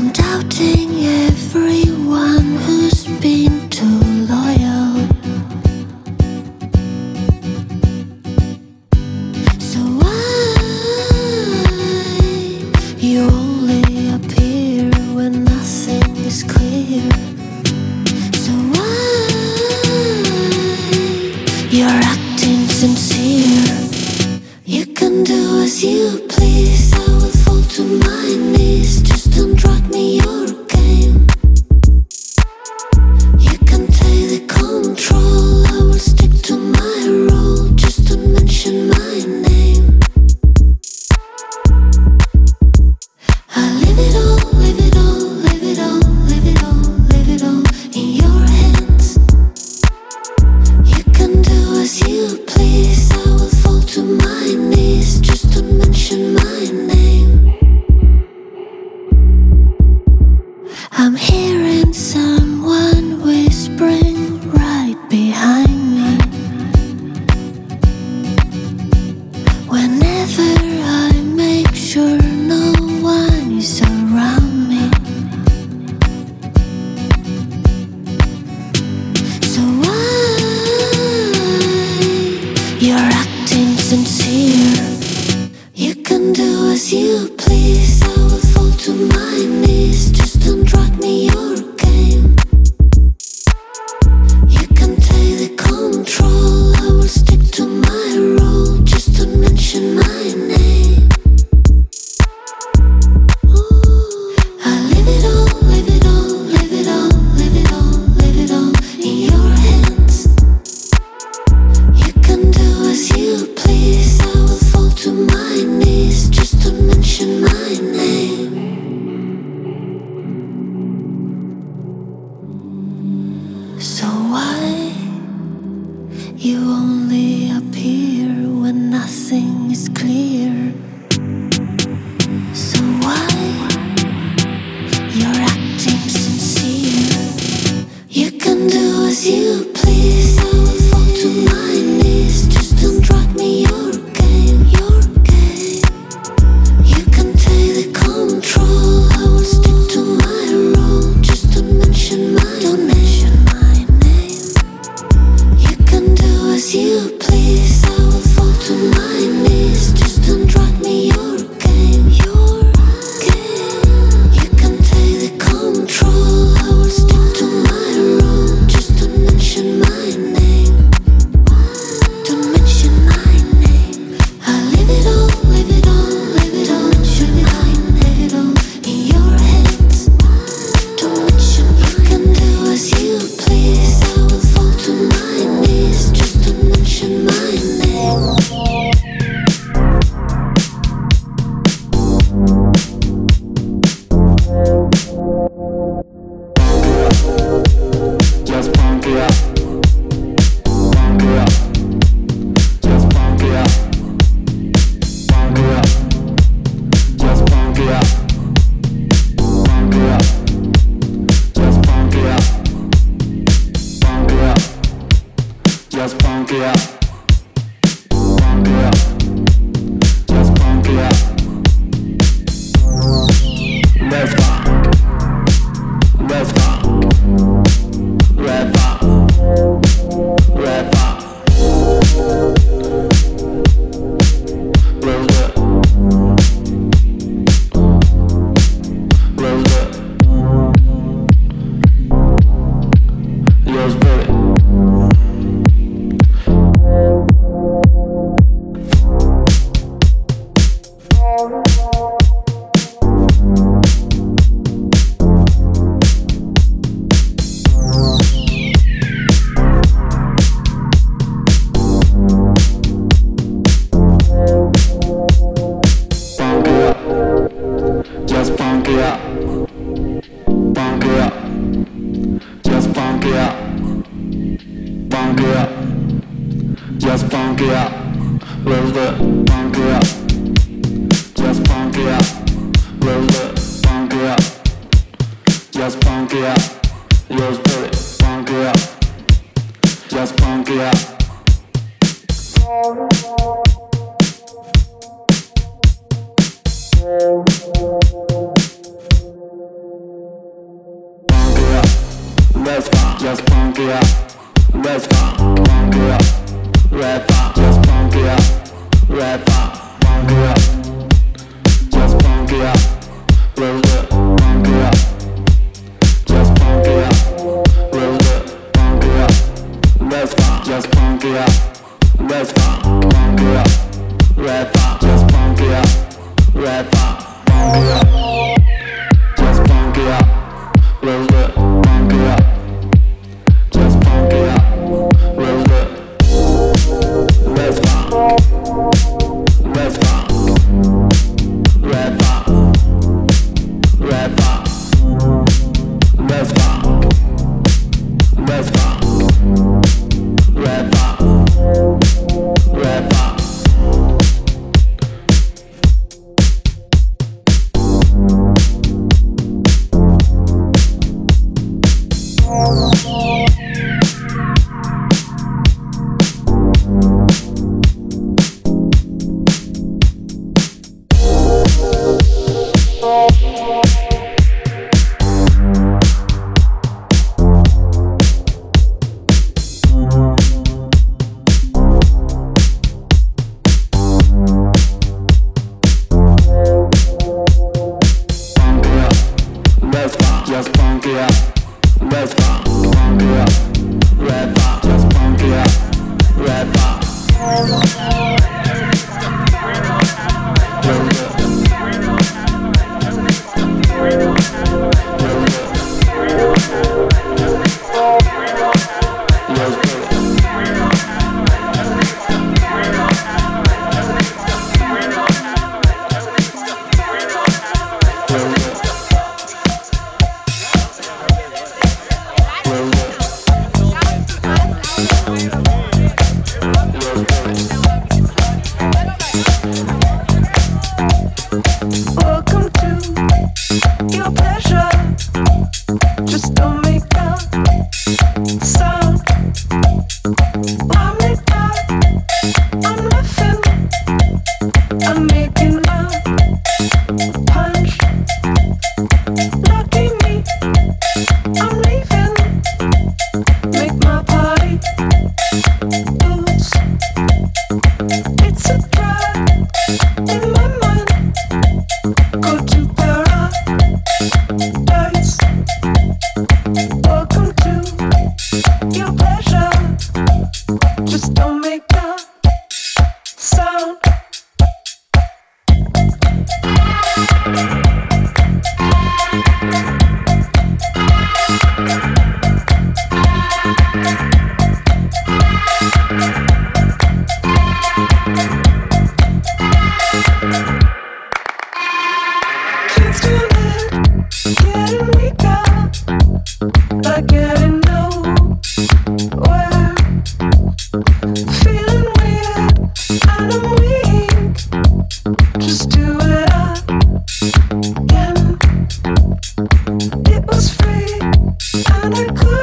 I'm doubting everyone who's been too loyal. So why you only appear when nothing is clear? So why you're acting sincere? You can do as you please, I will fall to my knees. Just don't drag me your game. You can take the control, I will stick to my role. Just don't mention my name. I leave it all, leave it all, leave it all, leave it all, leave it all in your hands. You can do as you please, I will fall to my knees. Just don't mention my name. I'm hearing someone whispering right behind me. Whenever I make sure no one is around me. So why you're acting sincere? You can do as you please, I will fall to my knees. Just don't drag me your game. You can take the control, I will stick to my role. Just don't mention my name. I leave it all, leave it all, leave it all, leave it all, leave it all in your hands. You can do as you please, I will fall to my knees. Just don't mention my name. So why you only appear when nothing is clear? So why you're acting sincere? You can do as you please, I will fall to my knees. Just don't drag me your game, your game. You can take the control, I will stick to my role. Just don't mention my name. You can do as you please, I will fall to my knees. Just don't drag me your game, your game. You can take the control, I will stick to my role. Just don't mention my name. Don't mention my name. I leave it all, leave it all, leave it all, leave it all, leave it all in your hands. Don't mention. You can do as you please, I will fall to my knees. Just don't mention my name. Just punk it up, punk it up, just punk it up, punk it up, just punk it up, punk it up, just punk it up, punk it up, just punk it up, punk it up, just punk it up. Let's funk, let's funk. Red funk, red funk. Real good, real good. Yours pretty. Just punk it up, punk it up, just punk it up, punk it up, just punk it up, real good, punk it up, just punk it up, real good, punk it up, just punk it up, yours pretty, punk it up, just punk it up. just pump it up. Let's pump it up. Red funk, just pump it up. Red funk, pump it up. Just pump it up. Real good, pump it up. Just pump it up. Real good, pump it up. Let's pump, just pump it up. Let's pump it up. Red funk, just pump it up. Red funk, pump it up. Just pump it up. Real good, pump it up. Just pump it up. Real good. Let's pump. Let's pump. Red funk. Red funk. Let's pump. Let's pump. Red funk. Red funk. Just pump it up. Let's pump it up. Red funk, just pump it up. Red funk. Real good. Real good. Let's do it. Welcome to your pleasure. Just don't make a sound. I'm lit up, I'm laughing, I'm making a punch. Lucky me, I'm leaving. Make my party loose. It's a drug in my mind. Go to paradise. Welcome to your pleasure. Just don't make a sound. Can't stand it, getting weaker, like getting nowhere. Feeling weird, and I'm weak. Just do it again. It was free, and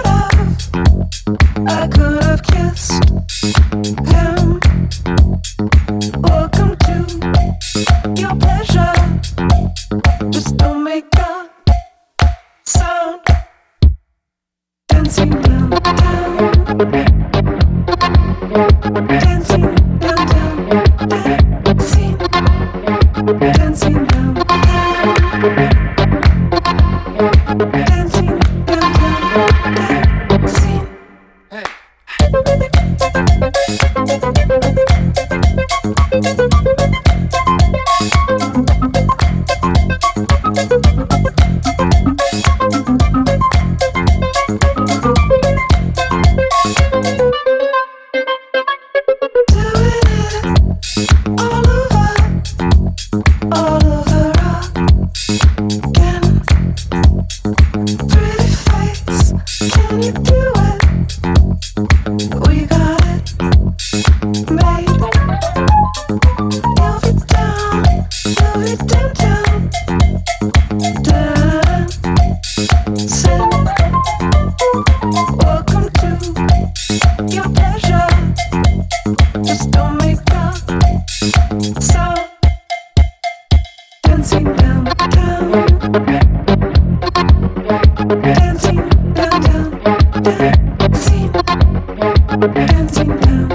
I could have kissed him. Welcome to your pleasure. Just don't make a sound. Dancing downtown. Dancing downtown. Dancing. Dancing downtown. Dancing downtown. Dancing. Dancing downtown. dancing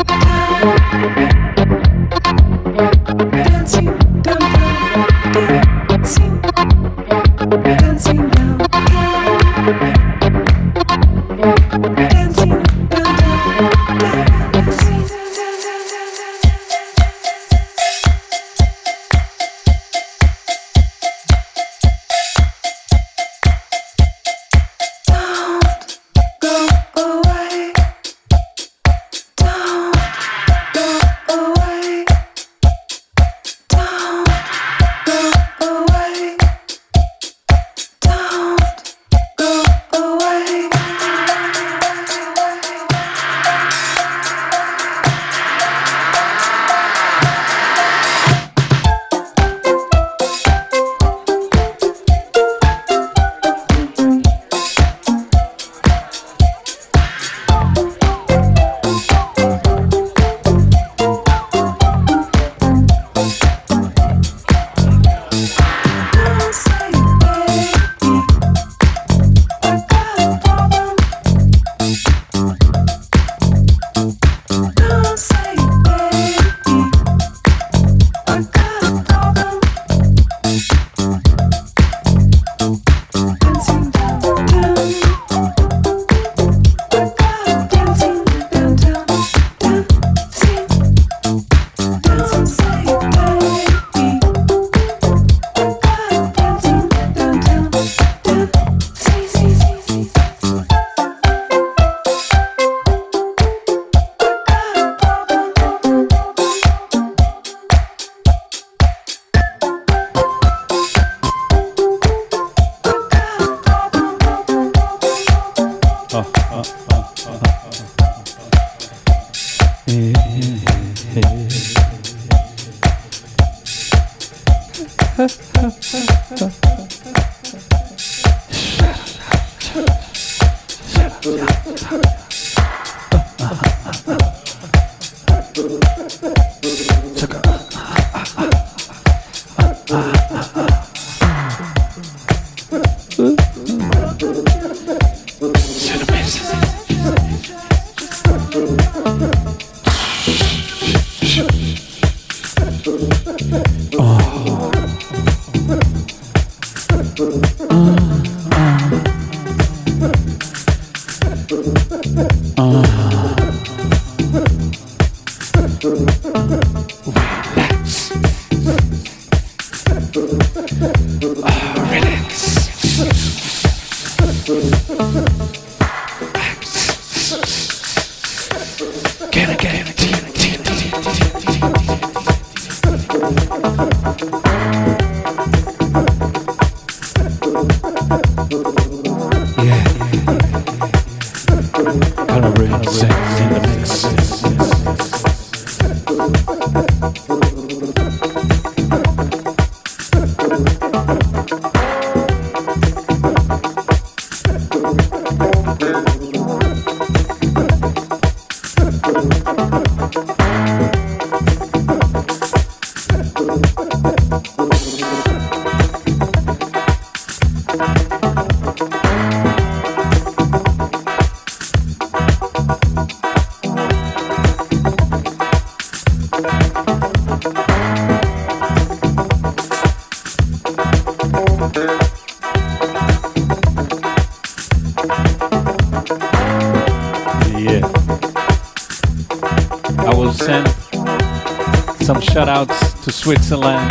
Shout outs to Switzerland,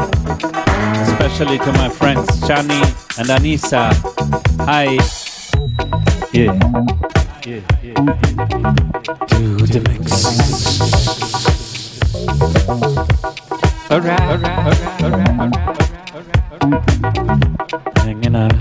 especially to my friends Chani and Anissa. Hi. Yeah. Do the mix. Alright. Hanging on.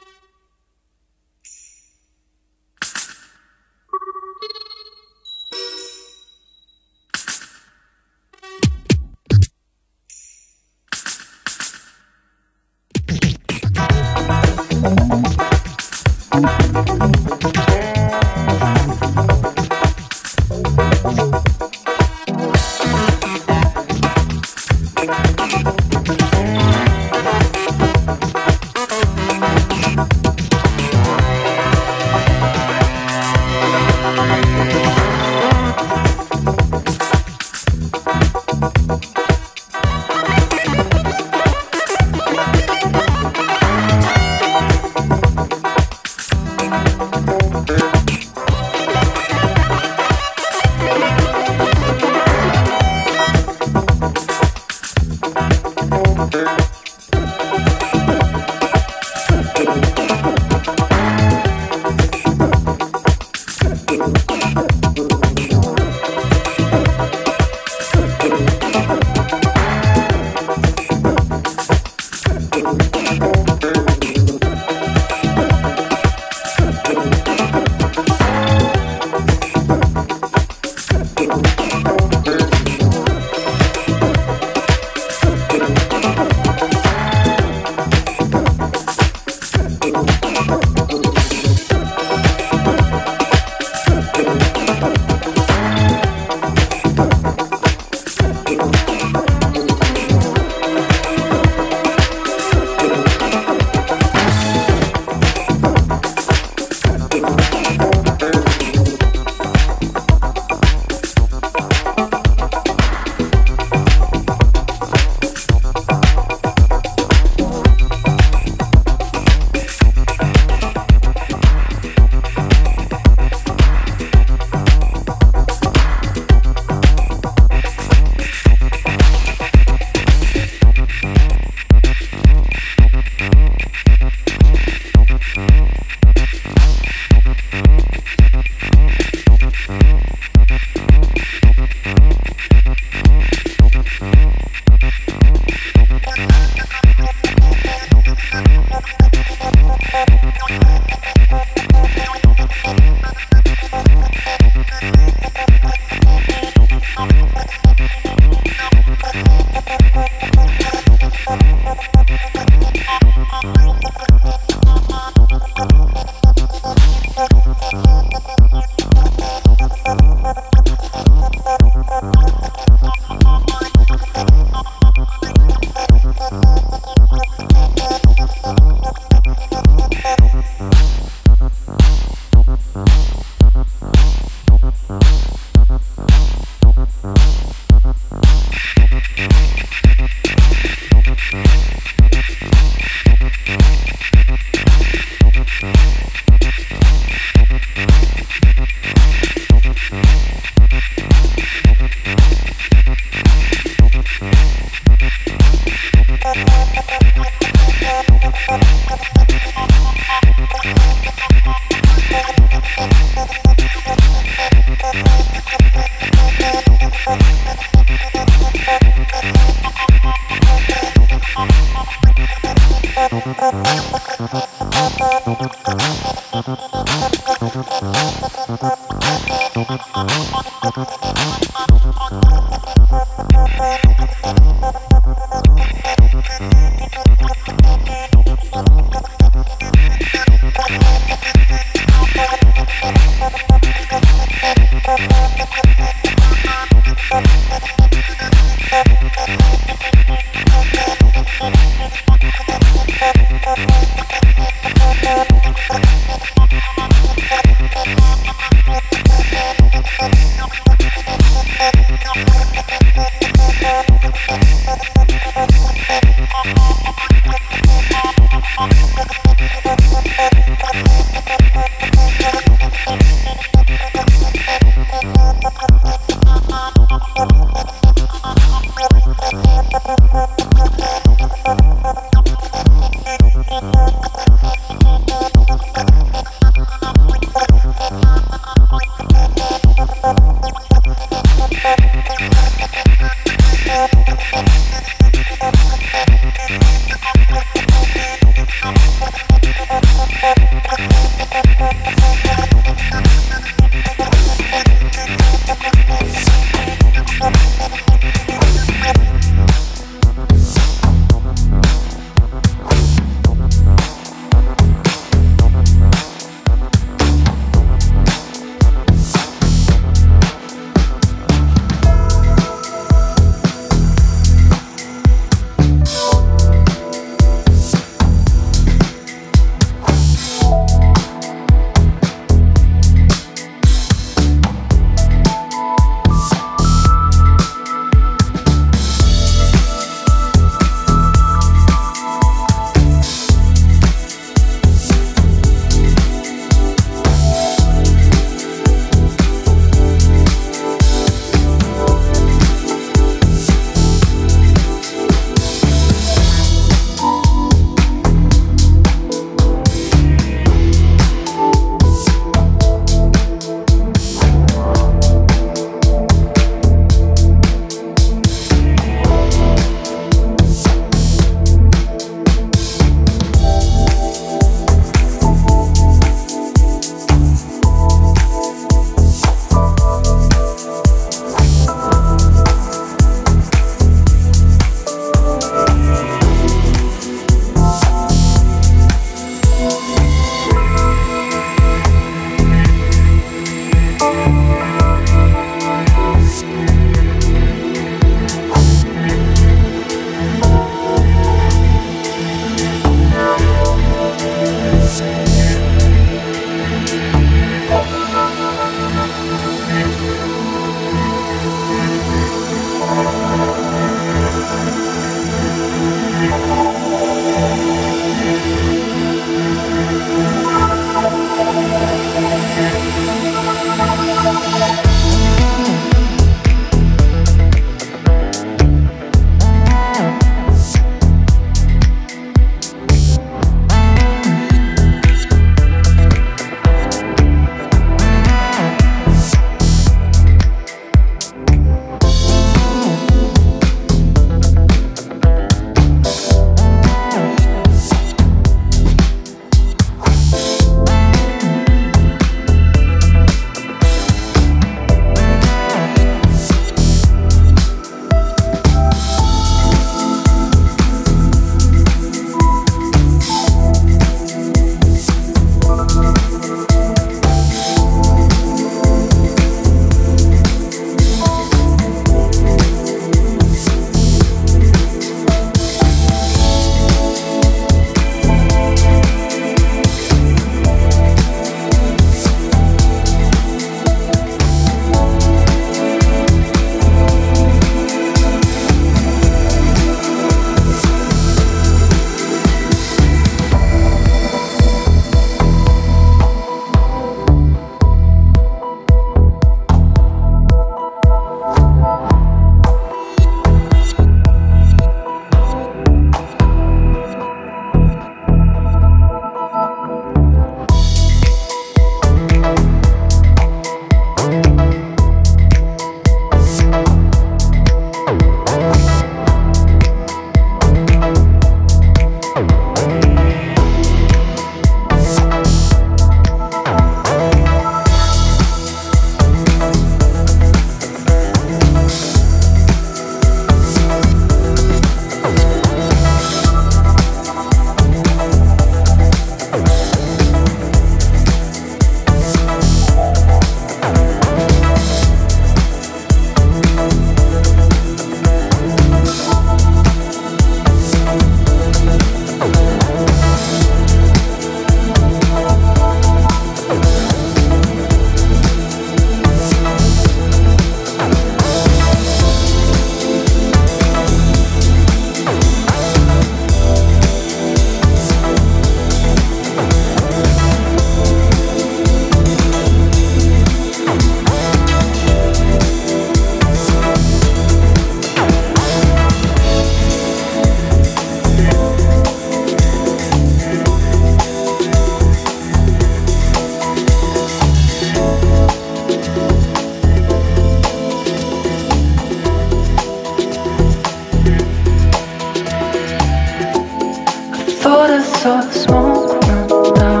thought I saw the smoke run down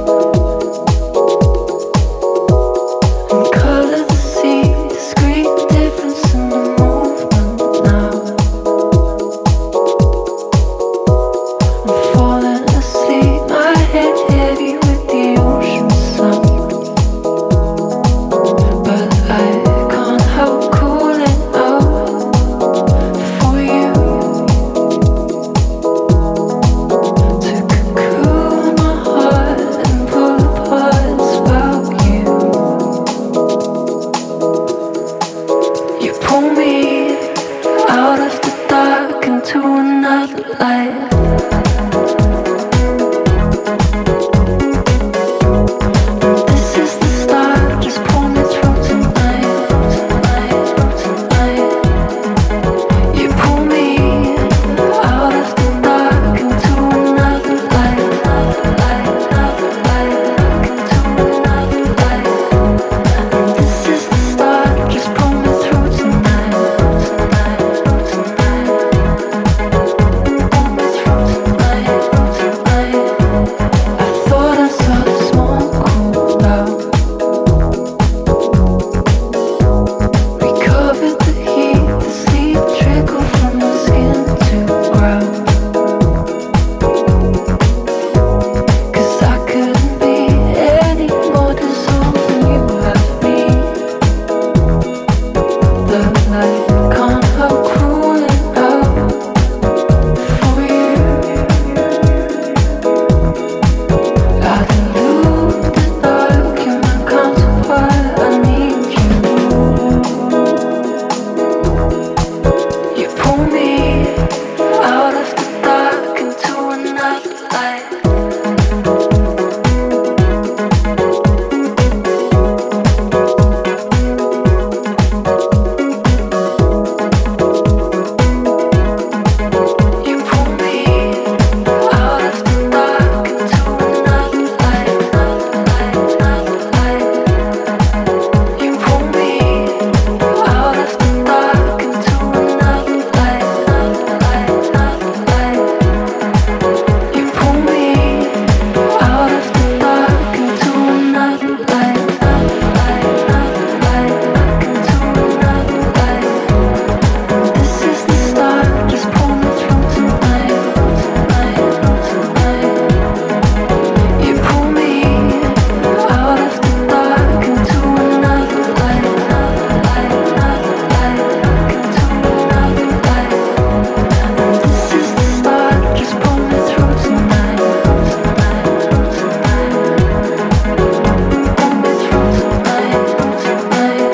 and color the sea. Discreet difference in the movement now. I'm falling asleep, my head heavy with the ocean sound, but I can't help calling out for you to cocoon my heart and pull apart about you. You pull me out of the dark into another light. This is the start, just pull me through tonight, tonight, tonight. You pull me out of the dark into another light, another light, another light, into another light. And this is the start, just pull me through tonight, tonight, tonight. Pull me through tonight, tonight. I thought I saw the smoke cool out. We covered the heat, the sleep trickle from the skin to ground. 'Cause I couldn't be any more dissolved than you have me. The light can't help cooling out for you. I dilute the dark, you're my counterpart, I need you. You pull me out of the dark into another light. You pull me out of the dark into another light, another light, another light. You pull me out of the dark into another light, another light, another light. You pull me out of the dark into another light, another light, another light, into another light. This is the start, just pull me through tonight, tonight, tonight. You pull me out of the dark into another light, another light, another light, into another light. This is the start, just pull me through tonight, tonight, tonight. Pull me through tonight, tonight.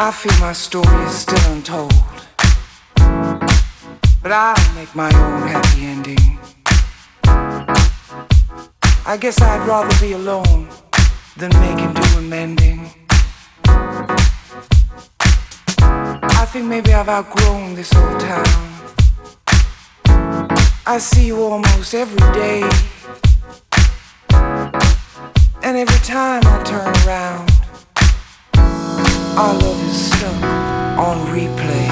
I feel my story is still untold, but I'll make my own happy ending. I guess I'd rather be alone than making do amending. I think maybe I've outgrown this old town. I see you almost every day, and every time I turn around, our love is stuck on replay.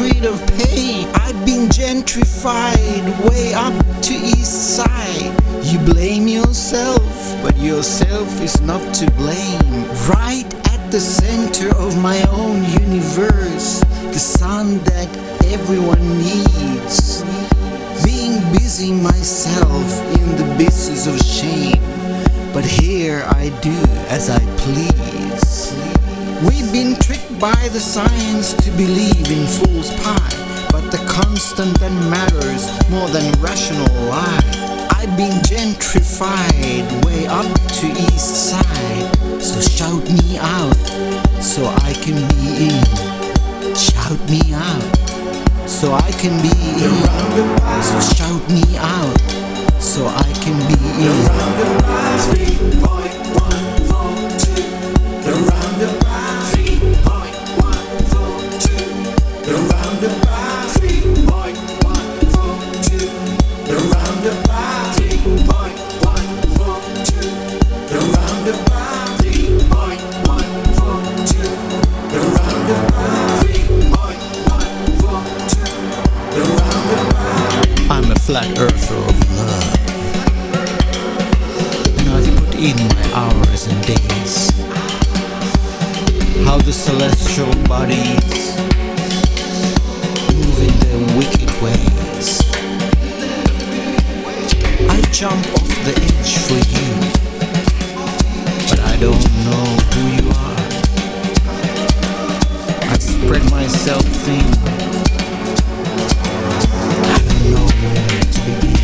rid of pain. I've been gentrified way up to east side. You blame yourself, but yourself is not to blame. Right at the center of my own universe, the sun that everyone needs. Being busy myself in the business of shame, but here I do as I please. We've been tricked by the science to believe in fool's pie, but the constant that matters more than rational lie. I've been gentrified way up to east side, so shout me out so I can be in. Shout me out so I can be in. So shout me out so I can be in. The roundabout 3.142. The roundabout 3.142. The roundabout 3.142. The roundabout 3.142. The roundabout 3.142. The roundabout 3.142. The roundabout. I'm a flat earther of love, and I've put in my hours and days. How the celestial bodies move in their wicked ways. I jump off the edge for you, but I don't know who you are. I spread myself thin. I don't know where to begin.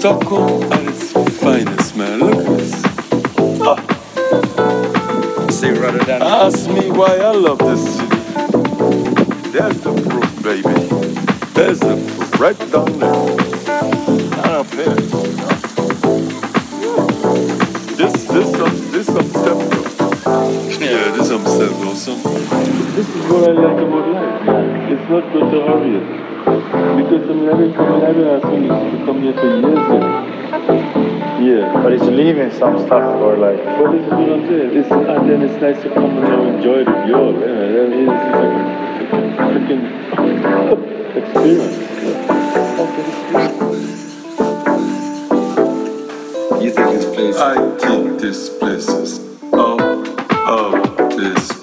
Stockholm at its finest, man. Look at this. See, rather than Ask me why I love this city. There's the proof, baby. There's the proof right down there. Not up here. This some step though. Yeah, this some step awesome. This is what I like about life. It's not good to hurry it. Because I didn't come to come here for years now. Yeah. but it's leaving some stuff for like. But this is what I'm saying. And then it's nice to come and enjoy the view. It's like a freaking experience. You think this place? I think this place is out of this